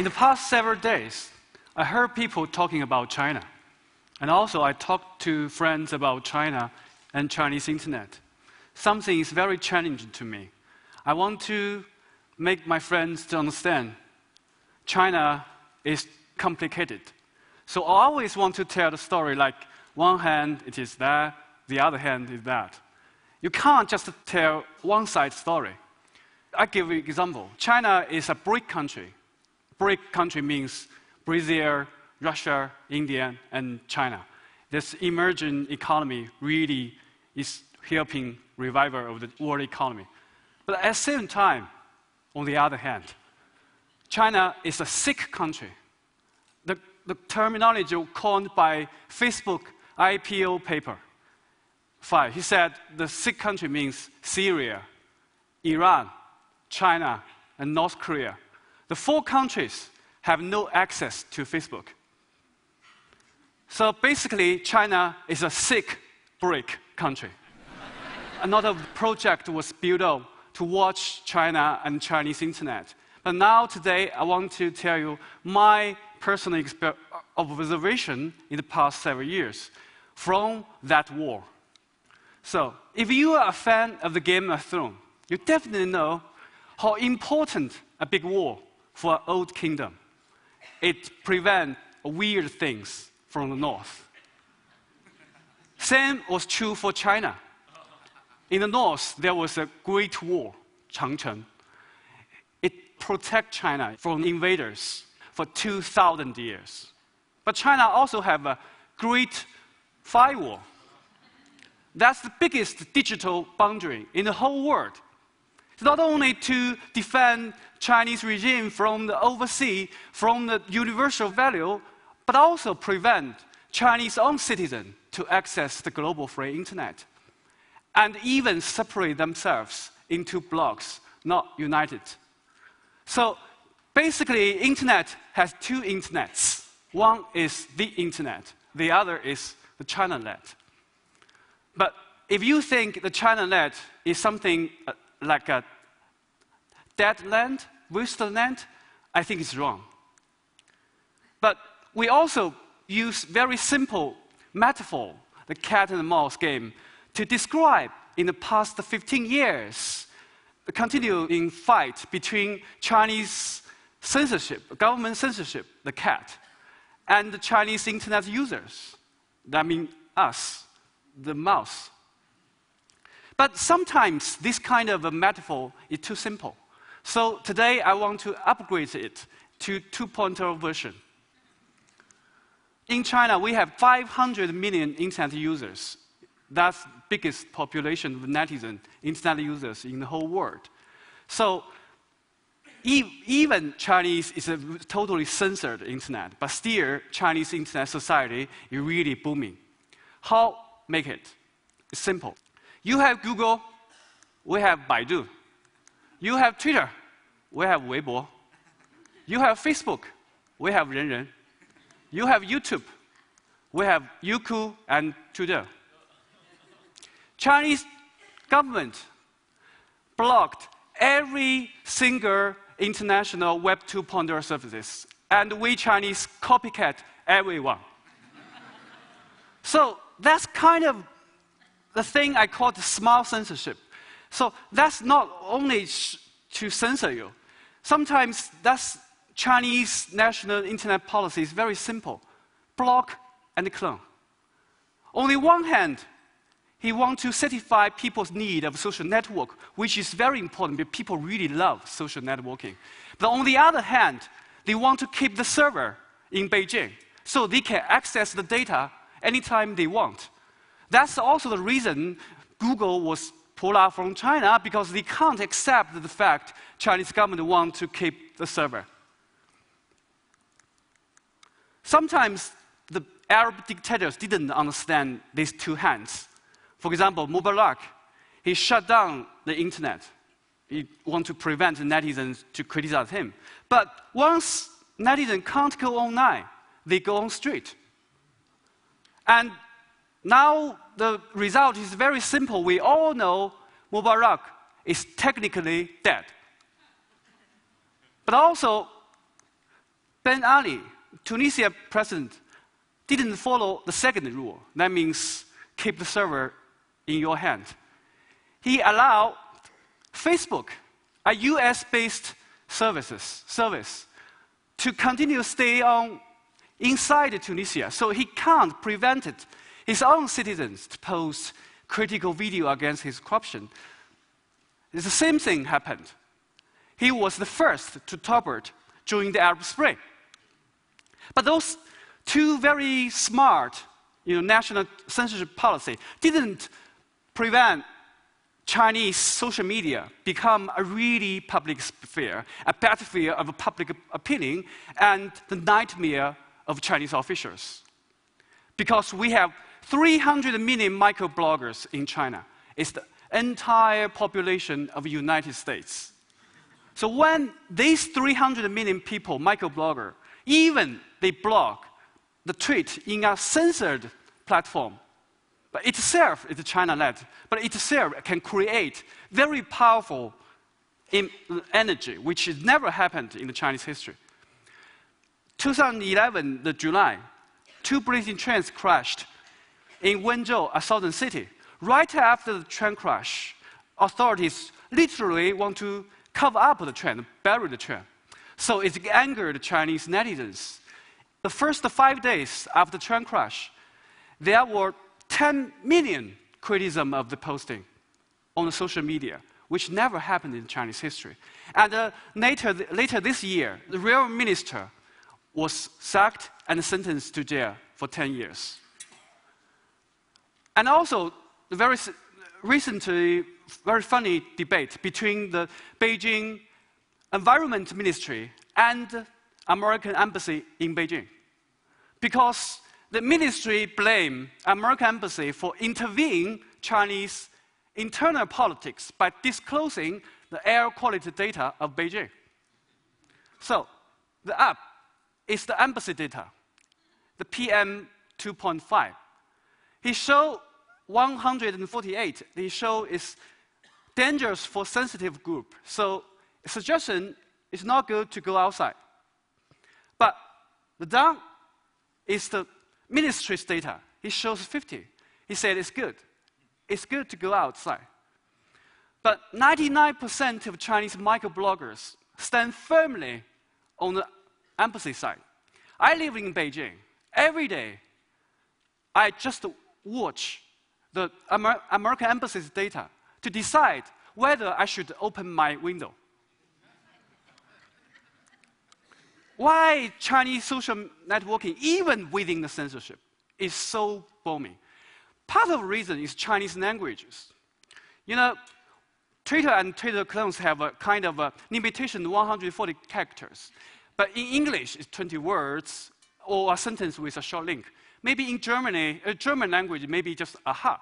the past several days, I heard people talking about China. And also, I talked to friends about China and Chinese internet. Something is very challenging to me. I want to make my friends to understand China is complicated. So I always want to tell the story like one hand it is that, the other hand is that. You can't just tell one side story. I give you an example. China is a BRIC country. BRIC country means Brazil, Russia, India, and China. This emerging economy really is helping revival of the world economy. But at the same time, on the other hand, China is a sick country. The terminology coined by Facebook IPO paper 5. He said the sick country means Syria, Iran, China, and North Korea. The 4 countries have no access to Facebook. So basically, China is a sick BRIC country. Another project was built up to watch China and Chinese internet. But now, today, I want to tell you my personal observation in the past several years from that war. So, if you are a fan of the Game of Thrones, you definitely know how important a big war for an old kingdom. It prevents weird things from the north. Same was true for China. In the north, there was a great war, Changchun. It protected China from invaders for 2,000 years. But China also have a great firewall. That's the biggest digital boundary in the whole world. It's not only to defend Chinese regime from the overseas, from the universal value, but also prevent Chinese own citizens to access the global free internet, and even separate themselves into blocks, not united. So basically, internet has 2 internets. One is the internet, the other is the ChinaNet. But if you think the ChinaNet is something like a dead land, wasteland, I think it's wrong. But we also use very simple metaphor, the cat and mouse game, to describe in the past 15 years the continuing fight between Chinese censorship, government censorship, the cat, and the Chinese internet users. That means us, the mouse. But sometimes this kind of a metaphor is too simple. So today I want to upgrade it to 2.0 version. In China, we have 500 million internet users. That's the biggest population of netizen internet users in the whole world. So even Chinese is a totally censored internet, but still Chinese internet society is really booming. How make it? It's simple. You have Google, we have Baidu. You have Twitter, we have Weibo. You have Facebook, we have Renren. You have YouTube, we have Youku and Tudou. Chinese government blocked every single international Web 2.0 services, and we Chinese copycat everyone. So that's kind of the thing I call the smart censorship. So that's not only to censor you. Sometimes that's Chinese national internet policy is very simple. Block and clone. On the one hand, he wants to satisfy people's need of social network, which is very important because people really love social networking. But on the other hand, they want to keep the server in Beijing so they can access the data anytime they want. That's also the reason Google was pulled out from China, because they can't accept the fact Chinese government wants to keep the server. Sometimes the Arab dictators didn't understand these 2 hands. For example, Mubarak, he shut down the internet. He wanted to prevent netizens to criticize him. But once netizens can't go online, they go on street. And now the result is very simple. We all know Mubarak is technically dead. But also, Ben Ali, Tunisia president, didn't follow the second rule. That means keep the server in your hand. He allowed Facebook, a US-based service, to continue to stay on inside Tunisia. So he can't prevent his own citizens to post critical video against his corruption. The same thing happened. He was the first to topple it during the Arab Spring. But those two very smart national censorship policy didn't prevent Chinese social media become a really public sphere, a battlefield of public opinion, and the nightmare of Chinese officials. Because we have 300 million microbloggers in China. It's the entire population of the United States. So when these 300 million people, microblogger, even they blog the tweet in a censored platform, but itself is China-led, but itself can create very powerful energy, which has never happened in the Chinese history. 2011, the July, 2 British trains crashed in Wenzhou, a southern city. Right after the train crash, authorities literally want to cover up the train, bury the train. So it angered Chinese netizens. The first 5 days after the train crash, there were 10 million criticism of the posting on the social media, which never happened in Chinese history. And later this year, the real minister was sacked and sentenced to jail for 10 years. And also, the very recently, very funny debate between the Beijing Environment Ministry and American Embassy in Beijing. Because the ministry blamed American Embassy for intervening Chinese internal politics by disclosing the air quality data of Beijing. So, the app is the embassy data, the PM 2.5. He showed 148. He showed is dangerous for sensitive group. So, a suggestion is not good to go outside. But the down is the ministry's data. He shows 50. He said it's good. It's good to go outside. But 99% of Chinese microbloggers stand firmly on the embassy side. I live in Beijing. Every day, I just watch the American embassy's data to decide whether I should open my window. Why Chinese social networking, even within the censorship, is so booming? Part of the reason is Chinese languages. Twitter and Twitter clones have a kind of a limitation 140 characters. But in English, it's 20 words or a sentence with a short link. Maybe in Germany, German language, maybe just aha.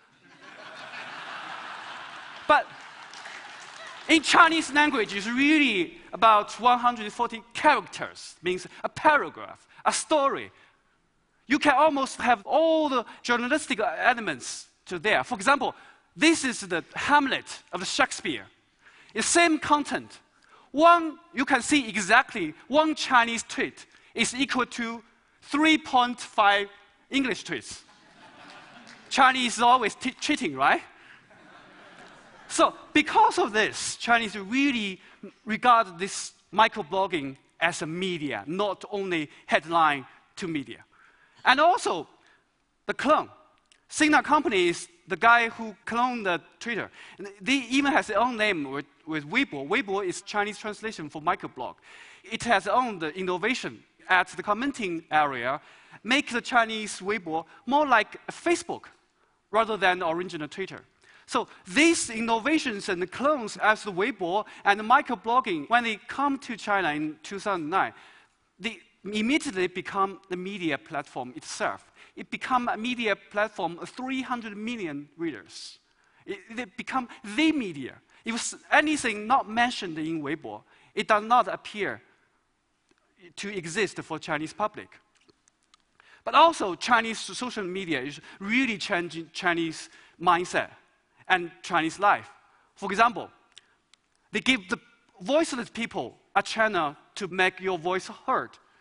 But in Chinese language, it's really about 140 characters, means a paragraph, a story. You can almost have all the journalistic elements to there. For example, this is the Hamlet of Shakespeare. It's same content. You can see exactly one Chinese tweet is equal to 3.5 English tweets. Chinese is always cheating, right? So because of this, Chinese really regard this microblogging as a media, not only headline to media. And also, the clone. Sina Company is the guy who cloned the Twitter. And they even has their own name with Weibo. Weibo is Chinese translation for microblog. It has owned the innovation at the commenting area, make the Chinese Weibo more like Facebook rather than the original Twitter. So these innovations and the clones as the Weibo and the microblogging, when they come to China in 2009, they immediately become the media platform itself. It became a media platform of 300 million readers. It become the media. If anything not mentioned in Weibo, it does not appear to exist for Chinese public. But also, Chinese social media is really changing Chinese mindset and Chinese life. For example, they give the voiceless people a channel to make your voice heard.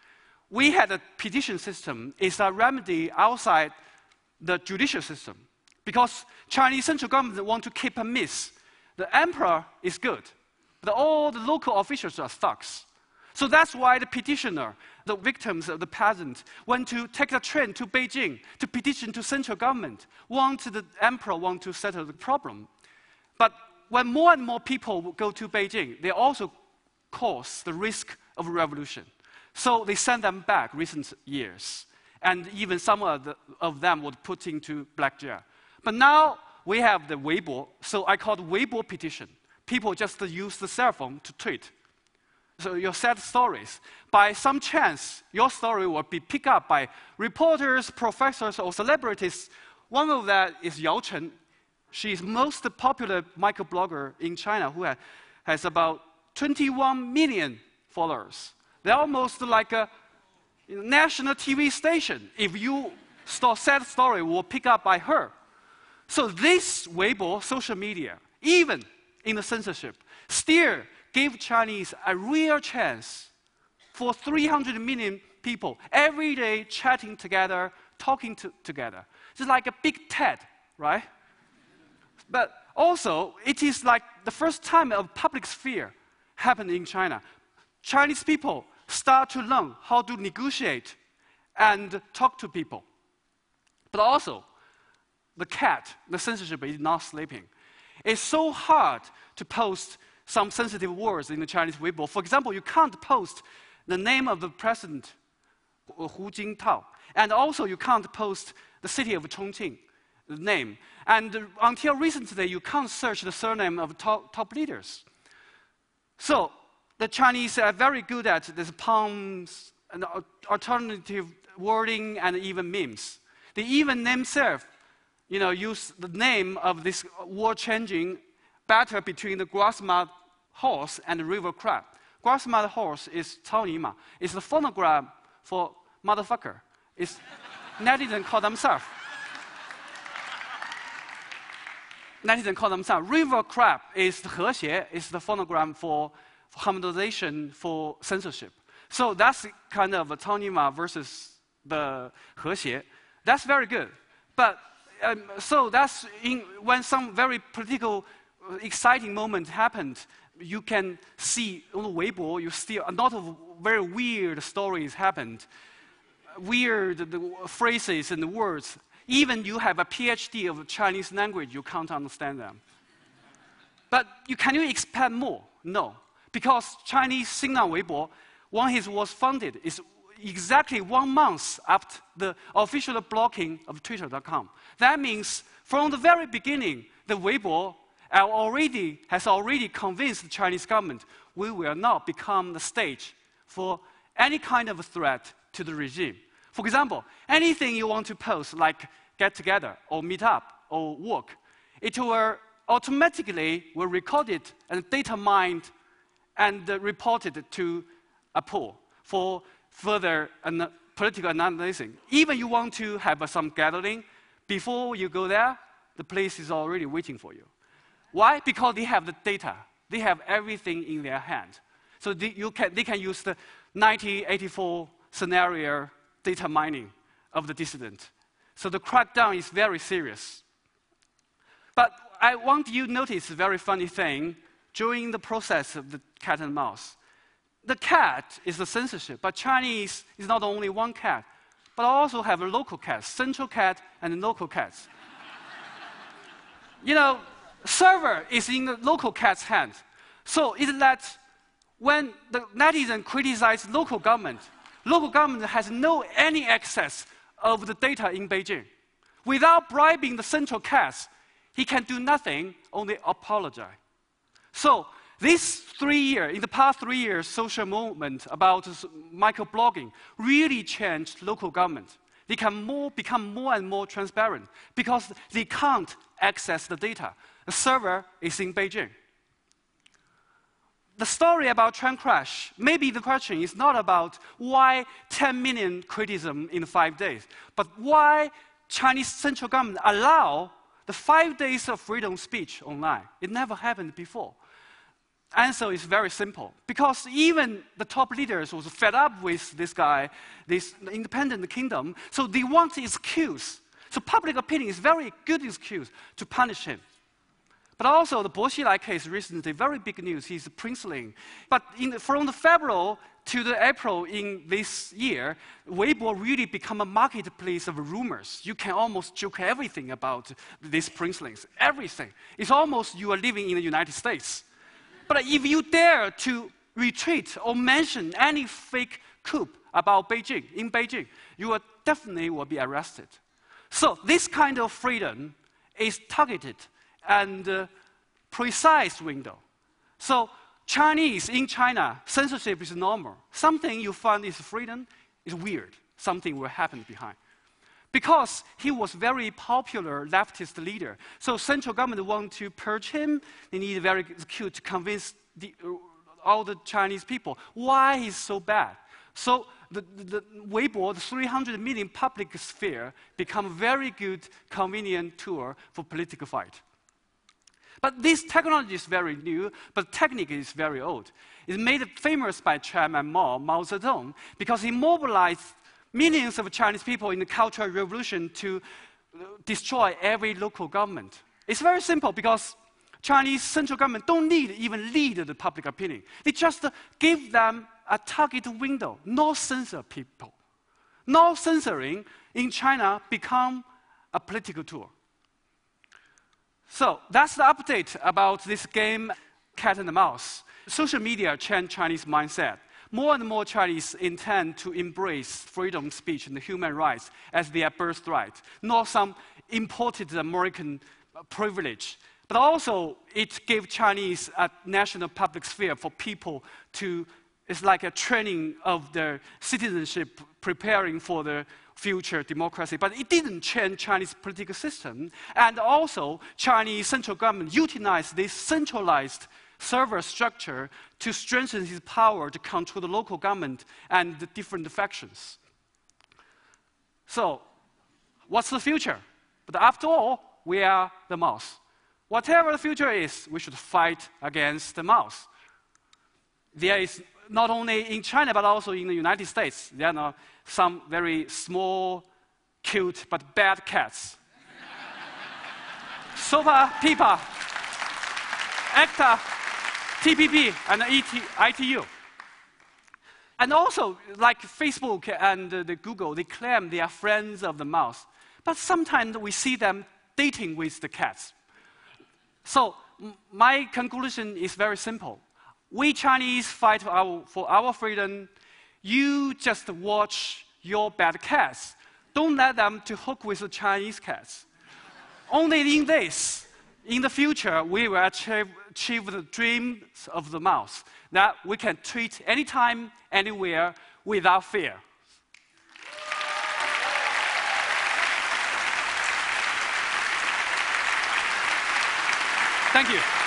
we had a petition system. It's a remedy outside the judicial system. Because Chinese central government want to keep a peace. The emperor is good, but all the local officials are thugs. So that's why the petitioner, the victims of the peasant, went to take the train to Beijing to petition to central government, the emperor want to settle the problem. But when more and more people go to Beijing, they also cause the risk of revolution. So they send them back recent years. And even some of them were put into black jail. But now we have the Weibo, so I call it Weibo petition. People just use the cell phone to tweet. So your sad stories, by some chance, your story will be picked up by reporters, professors, or celebrities. One of that is Yao Chen. She's most popular microblogger in China who has about 21 million followers. They're almost like a national TV station. If you start sad story, will pick up by her. So this Weibo, social media, even in the censorship, still give Chinese a real chance for 300 million people every day chatting together, talking together. It's like a big TED, right? But also, it is like the first time a public sphere happened in China. Chinese people start to learn how to negotiate and talk to people. But also, the censorship is not sleeping. It's so hard to post some sensitive words in the Chinese Weibo. For example, you can't post the name of the president, Hu Jintao. And also, you can't post the city of Chongqing, the name. And until recently, you can't search the surname of top leaders. So, the Chinese are very good at these puns and alternative wording and even memes. They even themselves, use the name of this war-changing battle between the grass-mud horse and the river crab. Grass-mud horse is 草泥马. It's the phonogram for motherfucker. It's netizens call themselves. River crab is the 和谐, is the phonogram for harmonization for censorship. So that's kind of a 草泥马 versus the 和谐. That's very good. But so that's when some very political, exciting moment happened, you can see on the Weibo, you see a lot of very weird stories happened. Weird phrases and words. Even you have a PhD of Chinese language, you can't understand them. But can you expand more? No. Because Chinese Sina Weibo, when it was founded, is exactly 1 month after the official blocking of Twitter.com. That means from the very beginning, the Weibo has already convinced the Chinese government we will not become the stage for any kind of threat to the regime. For example, anything you want to post, like get together or meet up or work, it will automatically record it and data mined and reported to a pool for further political analysis. Even you want to have some gathering, before you go there, the place is already waiting for you. Why? Because they have the data. They have everything in their hand. So they can use the 1984 scenario data mining of the dissident. So the crackdown is very serious. But I want you to notice a very funny thing during the process of the cat and mouse. The cat is the censorship, but Chinese is not only one cat, but also have a local cat, central cat and local cats. Server is in the local cat's hand. So it lets, when the netizen criticize local government has no any access of the data in Beijing. Without bribing the central cats, he can do nothing, only apologize. So in the past 3 years, social movement about microblogging really changed local government. They can become more and more transparent because they can't access the data. The server is in Beijing. The story about train crash, maybe the question is not about why 10 million criticism in 5 days, but why Chinese central government allow the 5 days of freedom of speech online. It never happened before. answer is very simple. Because even the top leaders was fed up with this guy, this independent kingdom, so they want an excuse. So public opinion is very good excuse to punish him. But also the Bo Xilai case recently, very big news, he's a princeling. But from the February to the April in this year, Weibo really become a marketplace of rumors. You can almost joke everything about these princelings, everything. It's almost you are living in the United States. But if you dare to retweet or mention any fake coup about Beijing, in Beijing, you will definitely be arrested. So this kind of freedom is targeted and precise window. So Chinese in China, censorship is normal. Something you find is freedom is weird. Something will happen behind. Because he was very popular leftist leader. So central government want to purge him. They need very cute to convince all the Chinese people why he's so bad. So the Weibo, the 300 million public sphere, become a very good, convenient tool for political fight. But this technology is very new, but technique is very old. It's made famous by Chairman Mao Zedong, because he mobilized millions of Chinese people in the Cultural Revolution to destroy every local government. It's very simple, because Chinese central government don't need even lead the public opinion. They just give them a target window, no censor people. No censoring in China become a political tool. So that's the update about this game, Cat and Mouse. Social media changed Chinese mindset. More and more Chinese intend to embrace freedom of speech and human rights as their birthright, not some imported American privilege. But also, it gave Chinese a national public sphere for people to, it's like a training of their citizenship, preparing for the future democracy. But it didn't change Chinese political system. And also, Chinese central government utilized this centralized server structure to strengthen his power to control the local government and the different factions. So, what's the future? But after all, we are the mouse. Whatever the future is, we should fight against the mouse. There is not only in China, but also in the United States, there are some very small, cute, but bad cats. SOPA, PIPA, ACTA, TPP, and ITU. And also, like Facebook and the Google, they claim they are friends of the mouse. But sometimes we see them dating with the cats. So my conclusion is very simple. We Chinese fight for our freedom. You just watch your bad cats. Don't let them to hook with the Chinese cats. Only in this, in the future, we will achieve the dreams of the mouse, that we can tweet anytime, anywhere, without fear. Thank you.